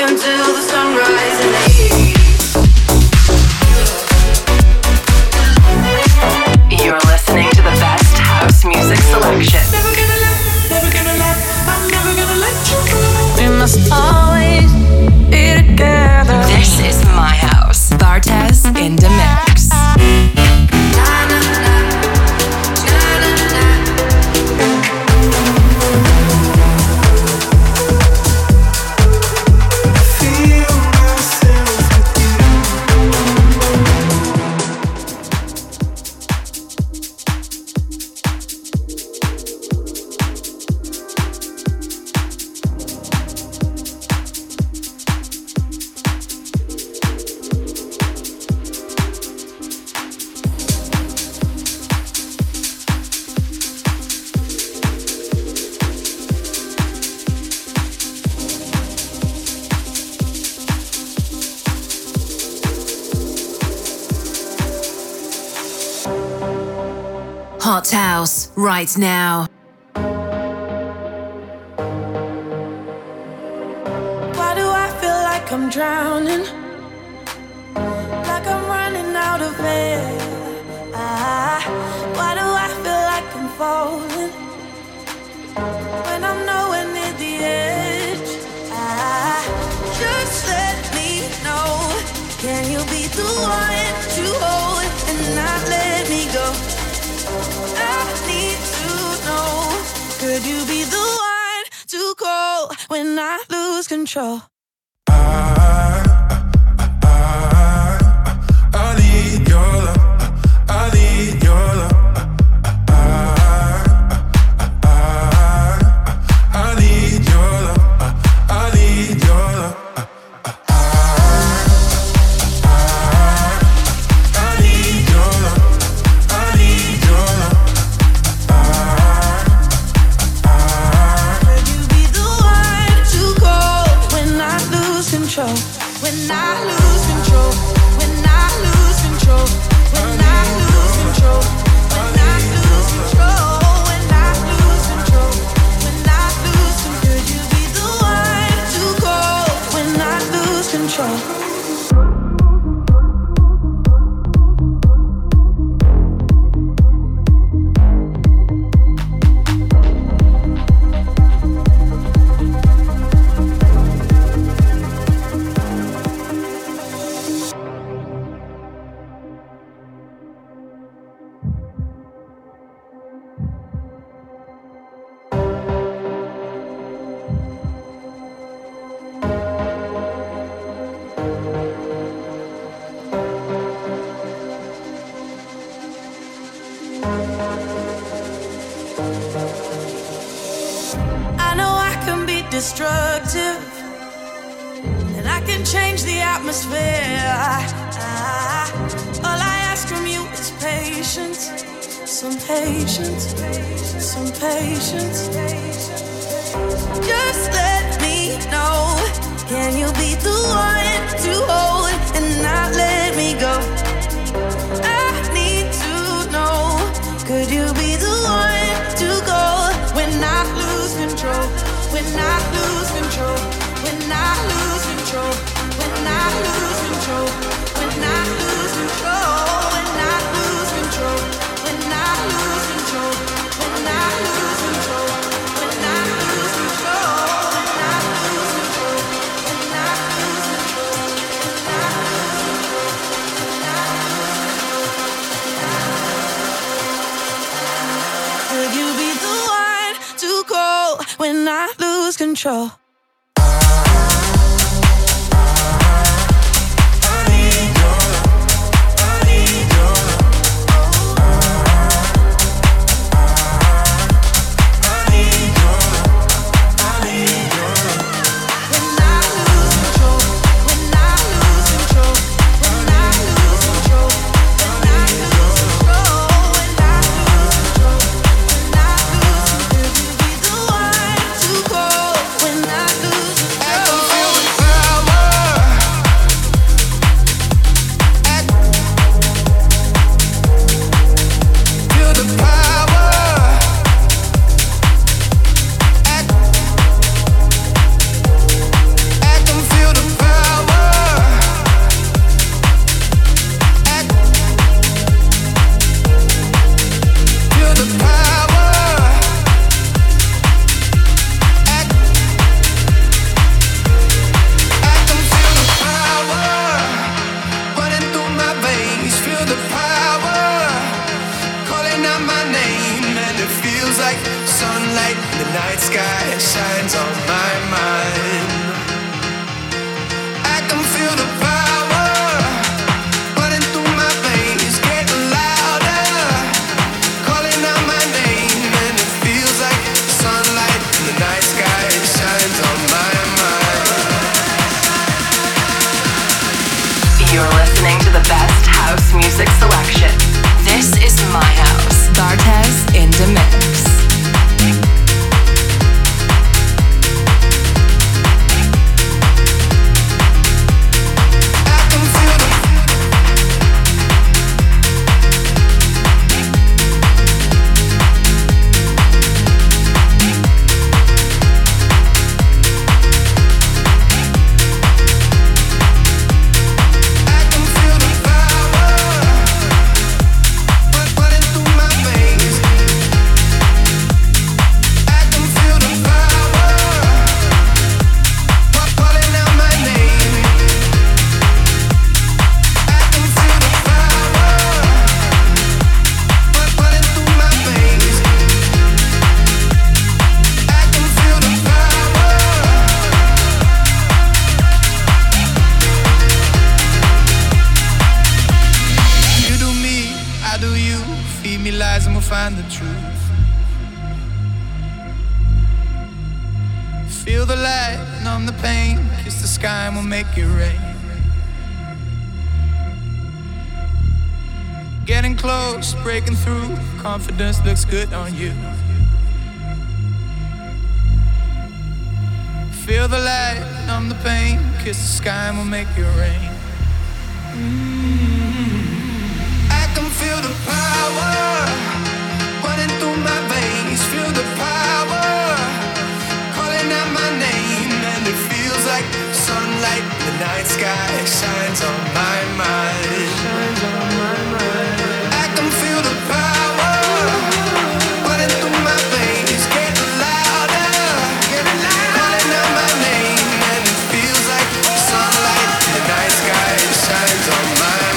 until the sunrise in the east. You're listening to the best house music selection. Never gonna let, I'm never gonna let you go. We must always be together. This is my house. Bartez in the mix. Hot House, right now. Why do I feel like I'm drowning? Like I'm running out of air. Why do I feel like I'm falling? When I'm nowhere near the edge. Just let me know. Can you be the one to hold and not let me go? I need to know. Could you be the one to call when I lose control? I need your love. I need your love. I need your love. I need your love. When I lose control, when I lose control, when I lose control, when I lose control, when I lose control, when I lose control, could you be the one to call when I lose control? Destructive, and I can change the atmosphere. All I ask from you is patience, some patience, some patience. Just let me know. Can you be the one to hold and not let me go? I need to know. Could you be the one to go when I lose control? When I lose control, when I lose control, when I lose control, when I lose control, when I lose control, when I lose control, when I lose control, when I lose control, when I lose control, when I lose control, could you be the one to call when I lose control? When I house music selection. This is my house. Bartez in the mix. Find the truth. Feel the light, numb the pain. Kiss the sky and we'll make it rain. Getting close, breaking through. Confidence looks good on you. Feel the light, numb the pain. Kiss the sky and we'll make it rain. I can feel the power through my veins, feel the power calling out my name, and it feels like sunlight. The night sky shines on my mind. I can feel the power running through my veins, getting louder, calling out my name, and it feels like sunlight. The night sky shines on my mind.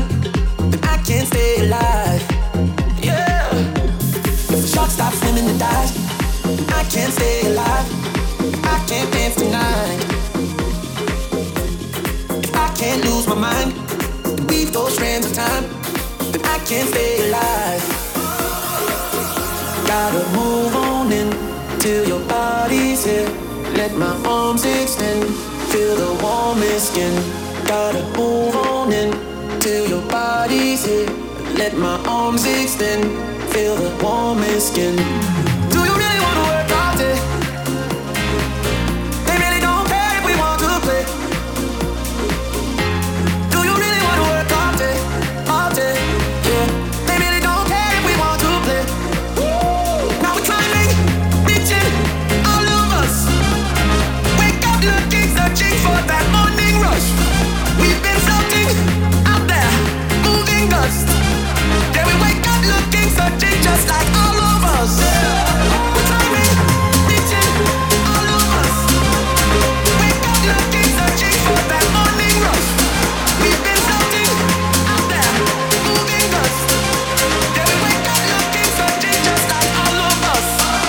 then I can't stay alive. Yeah. If the shark stops swimming and dies, then I can't stay alive. I can't dance tonight. If I can't lose my mind and weave those strands of time, then I can't stay alive. Gotta move on in till your body's here. Let my arms extend, feel the warmest skin. Gotta move on in till your body's here. Let my arms extend, feel the warmest skin. Do you really wanna work all day? They really don't care if we want to play. Do you really wanna work all day? All day, yeah. They really don't care if we want to play. Now we're climbing, reaching, all of us. Wake up looking, searching for that morning rush. We've been floating out there, moving dust. Yeah, we wake up looking, searching just like all of us. We're climbing, reaching, all of us. Wake up looking, searching for that morning rush. We've been floating out there, moving dust. Yeah, we wake up looking, searching just like all of us.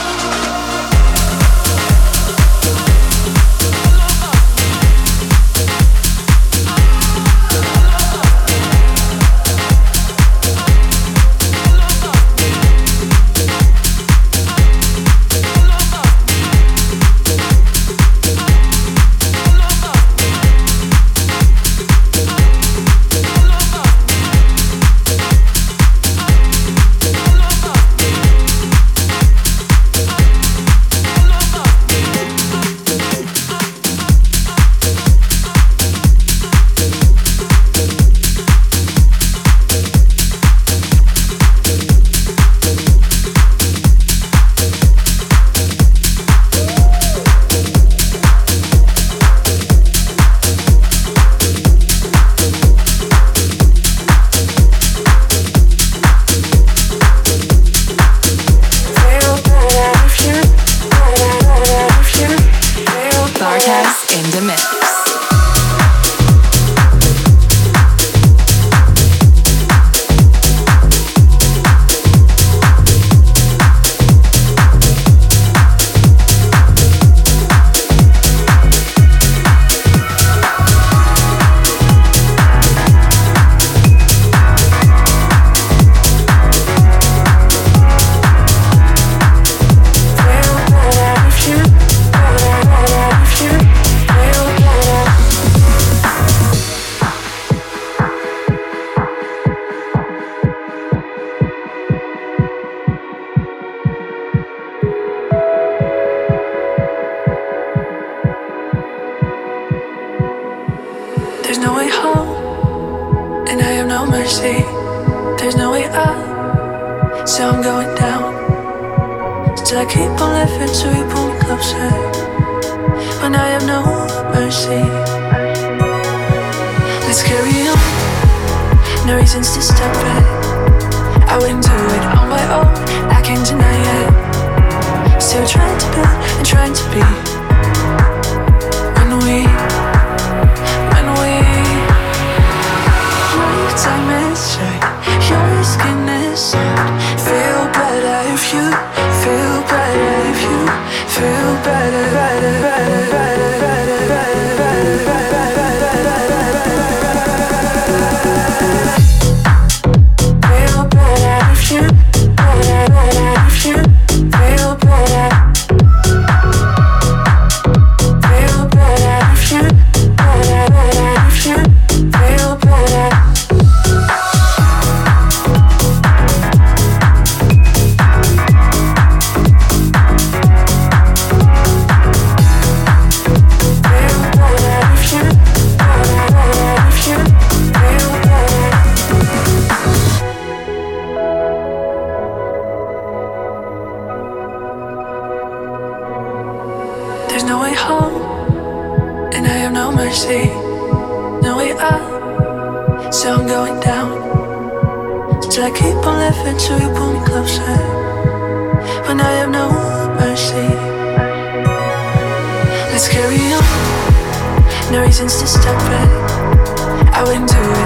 Let's carry on. No reasons to stop it. I wouldn't do it on my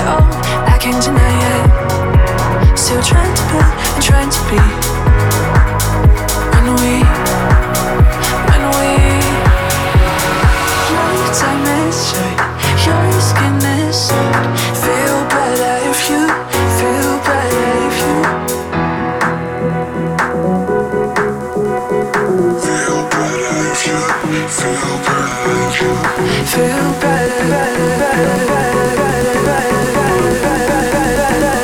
Oh, I can't deny it. Still trying to be and trying to be. When we your time is short, your skin is soft. Feel better if you feel better if you Feel better if you feel better if you feel better, better, better, better, better, better, better, better, better.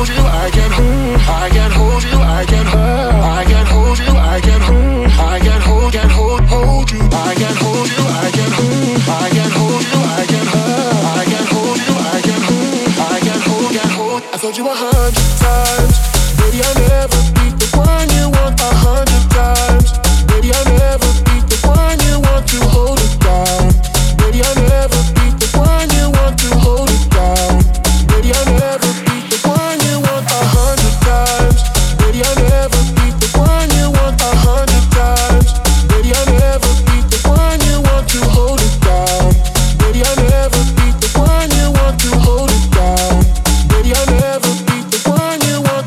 hold you, I can hold you, I can hold you, I can hold you, I can hold you, I can hold you, I can hold you, I can hold you, I can hold. I told you 100 times, baby, I never beat the one you want 100 times, baby, I never beat the one you want to hold it down, baby, I never beat the one you want to hold it down, baby, I never beat the one you want 100 times, baby, I never beat the one you want 100 times, baby, I never beat the one you want to hold it down, baby, I never beat the one you want to hold it down, baby, I never beat the one you want.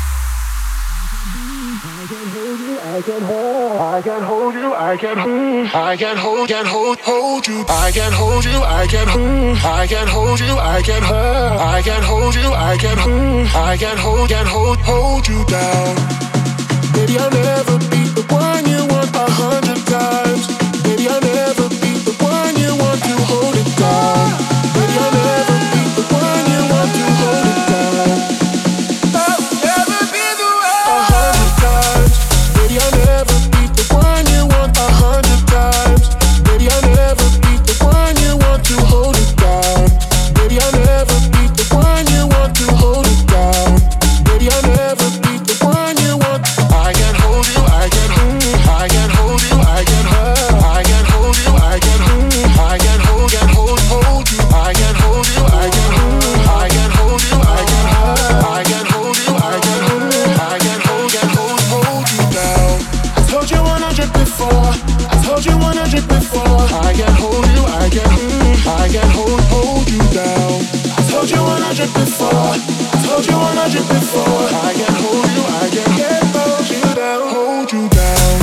I can hold you, I can hold you, I can hold you, I can hold you, I can hold you, I can hold you, I can hold you down. Baby, I never beat the one you want 100 times. Baby, I never beat the one you want to hold it down. Baby, I never beat the one you want to hold it down. I'll never be the one 100 times. Baby, I never beat the one you want 100 times. Baby, I never beat the one you want to hold it down. Baby, I never beat the one you want to hold it down. Baby, I never beat the one you want. I can hold you, I can hold you, I can hold you, I can hold you, I can hold you, I can hold you, I can hold you, I can hold you, I can hold you, I can hold you down. I told you 100 before, I told you 100 before. I can hold you, I can hold you down. I told you 100 before, I told you 100 before. I can hold you, I can hold you down, hold you down.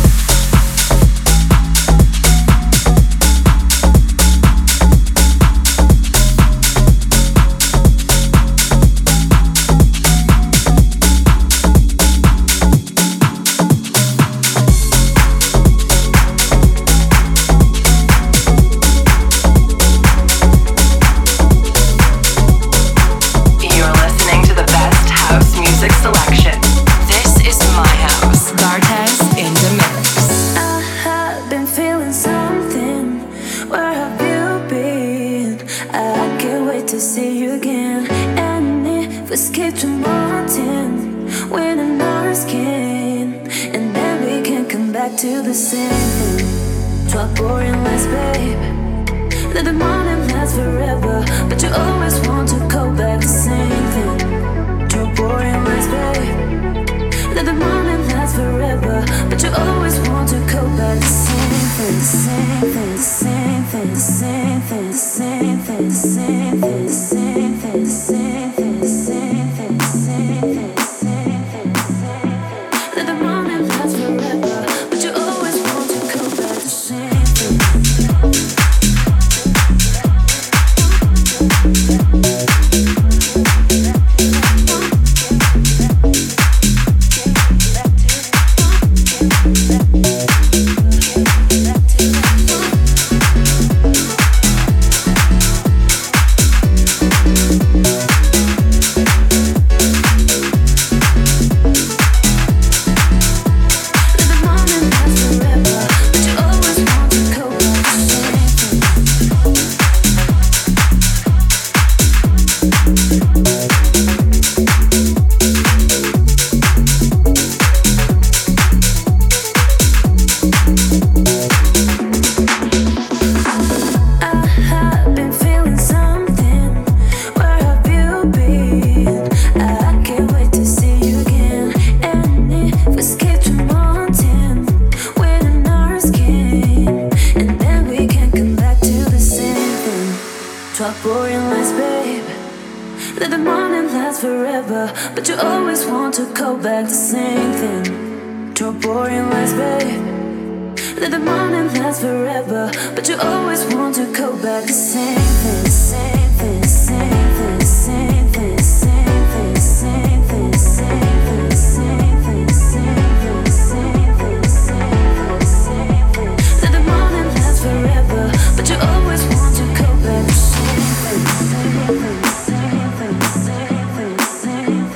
You're listening to the best house music selection. This is my house. Bartez in the mix. I have been feeling something. Where have you been? I can't wait to see you again. And if we escape to mountain, when in our skin, and then we can come back to the same thing. Drop boring lights, babe. Let the morning last forever, but you always want to go back the same thing. Drop boring lights, babe. Let the morning last forever, but you always want to go back the same thing, the same thing, the same thing, the same thing, the same thing, the same thing, the same thing, the same thing, the same thing, the same thing, the same thing, the same thing. Let the morning last forever, but you always want to go back the same thing. But you always want to go back the same thing. Draw boring lights, babe. Let the morning last forever, but you always want to go back the same thing, the same thing, the same thing, the same thing, the same thing, the same thing, the same thing, the same thing, the same thing, the same thing, the same thing. Let the morning last forever, but you always want to go back the same thing, the same thing, the same thing, the same thing, the same thing.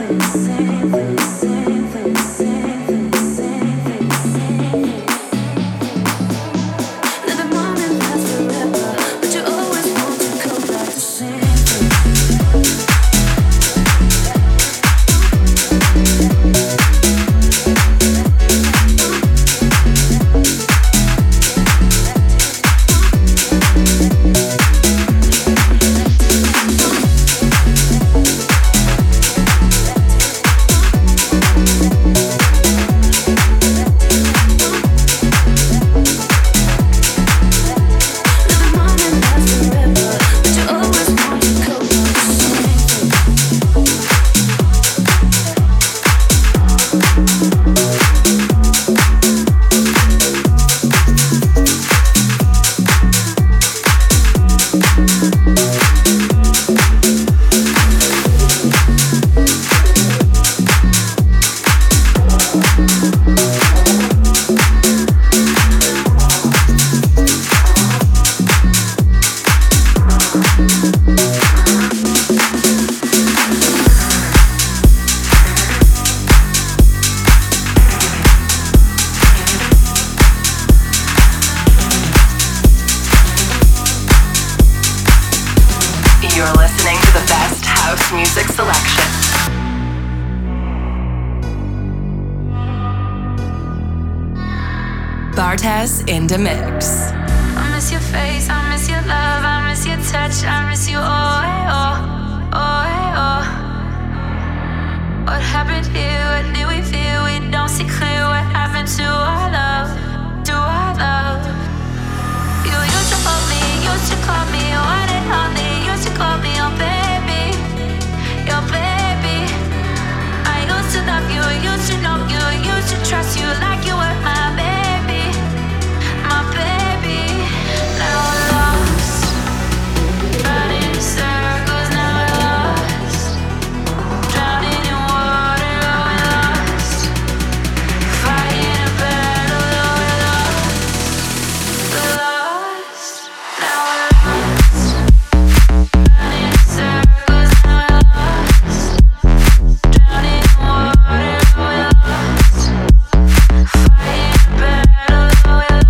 the best house music selection. Bartez in the mix. I miss your face, I miss your love, I miss your touch, I miss you, oh, hey, oh, oh, hey, oh. What happened here, what did we feel, we don't see clear, what happened to our love, to our love. You used to hold me, used to call me, one and only, used to call me your baby, your baby. I used to love you, used to know you, used to trust you like you were my baby, my baby. Now I'm lost, running in circles, now I'm lost, drowning in water, oh we're lost, fighting a battle, oh we're lost, now we're lost, running in circles, now we're lost, drowning in water, oh we're lost, fighting a battle, oh we're lost.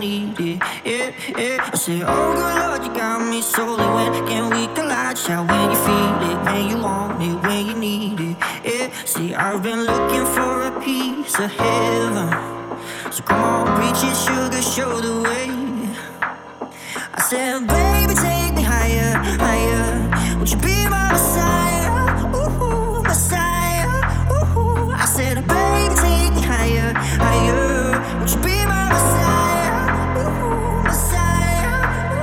need it. Yeah, yeah. I said, oh good Lord, you got me solely when can we collide? Shout when you feel it, when you want it, when you need it. Yeah, see, I've been looking for a piece of heaven. So come on, reach it, sugar, show the way. I said, baby, take me higher, higher. Would you be my Messiah? Ooh, Messiah. Ooh. I said, baby, take me higher, higher. Would you be my Messiah? Ooh, Messiah.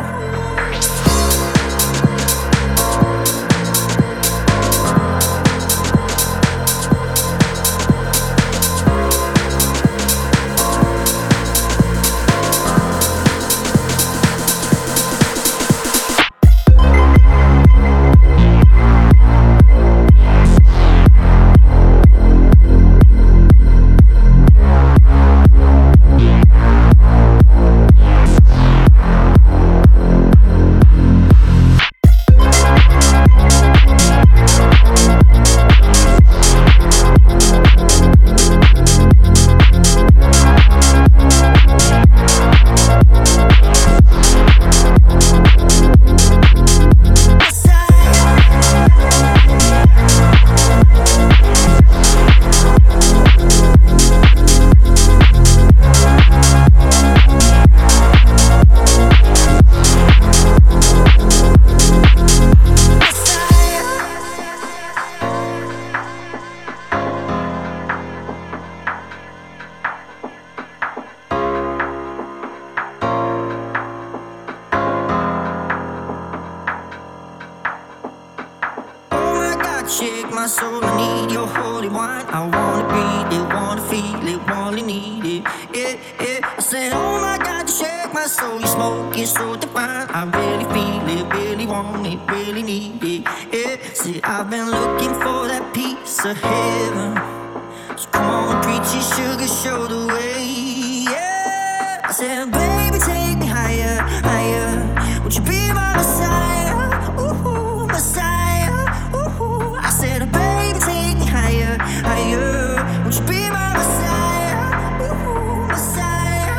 Shake my soul, I need your holy wine. I wanna breathe it, wanna feel it, wanna need it. Yeah, yeah. I said, oh my God, you shake my soul. You smoke it so divine. I really feel it, really want it, really need it. Yeah, see, I've been looking for that piece of heaven. So come on, preach it, sugar, show the way. Yeah, I said, baby, take me higher, higher. Would you be my Messiah? Ooh, Messiah. I said, baby, take me higher, higher. Would you be my Messiah? Ooh, Messiah.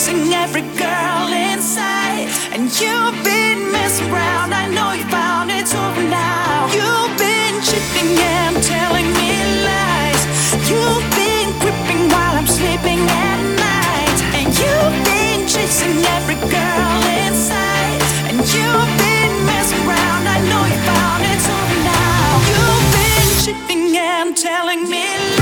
chasing every girl inside, and you've been messing around. I know you found it's over now. You've been cheating and telling me lies. You've been creeping while I'm sleeping at night, and you've been chasing every girl inside, and you've been messing around. I know you found it's over now. You've been cheating and telling me lies.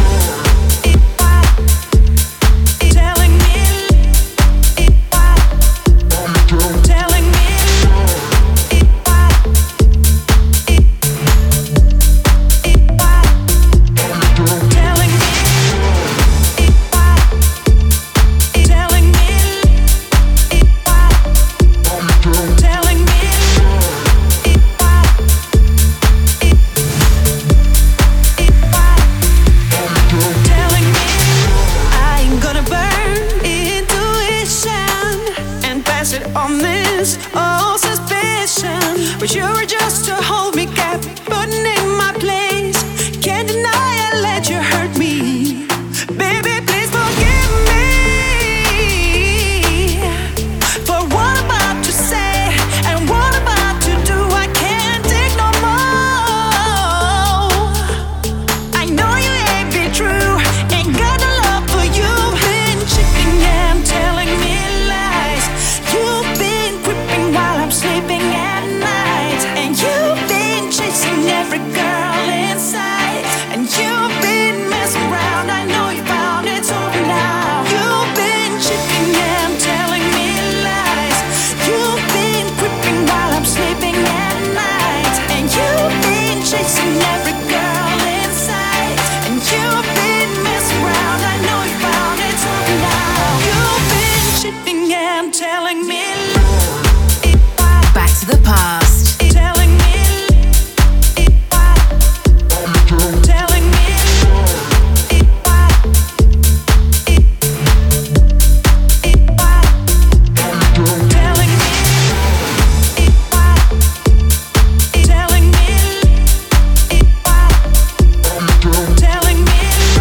But you were just to hold me captive, putting in my place. Can't deny I let you hurt me. Baby, please forgive me for what I'm about to say and what I'm about to do. I can't take no more. I know you ain't be true, ain't got no love for you. Been cheating and telling me lies. You've been creeping while I'm sleeping at night, and you've been chasing every girl inside, and you've been messing around. I know you found it's over now. You've been cheating and telling me lies. You've been creeping while I'm sleeping at night, and you've been chasing every girl inside, and you've been messing around. I know you found it's over now. You've been cheating and telling me lies. Back to the past. Telling me, telling me, telling me, telling me, telling me.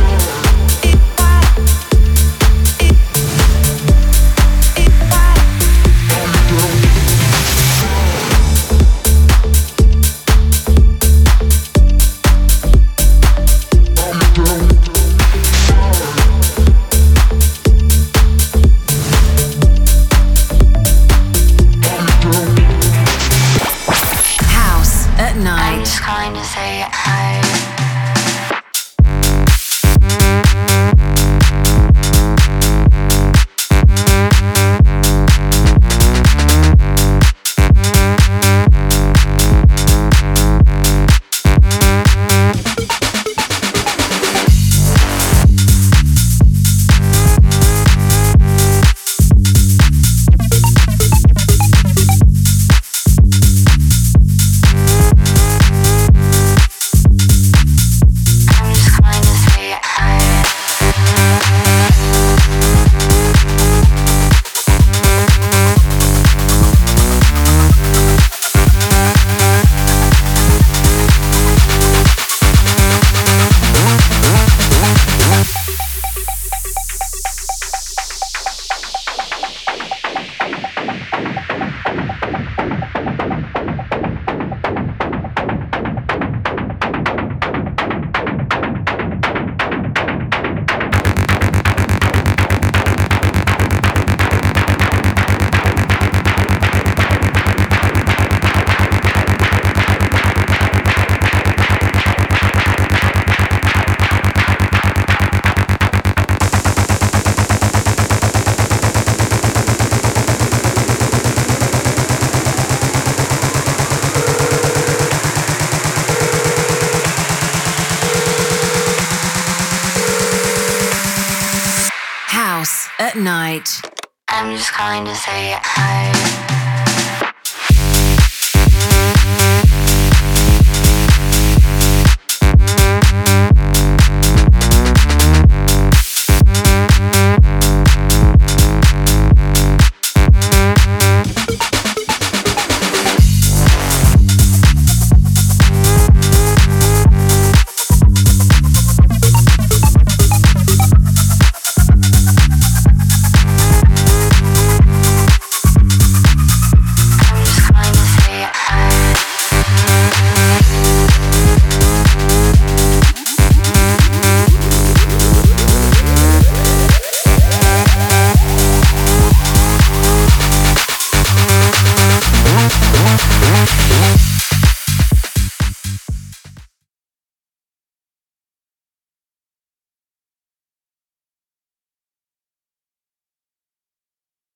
House at I'm night. just calling to say hi. I'm just calling to say hi. House at night. I'm just calling to say hi.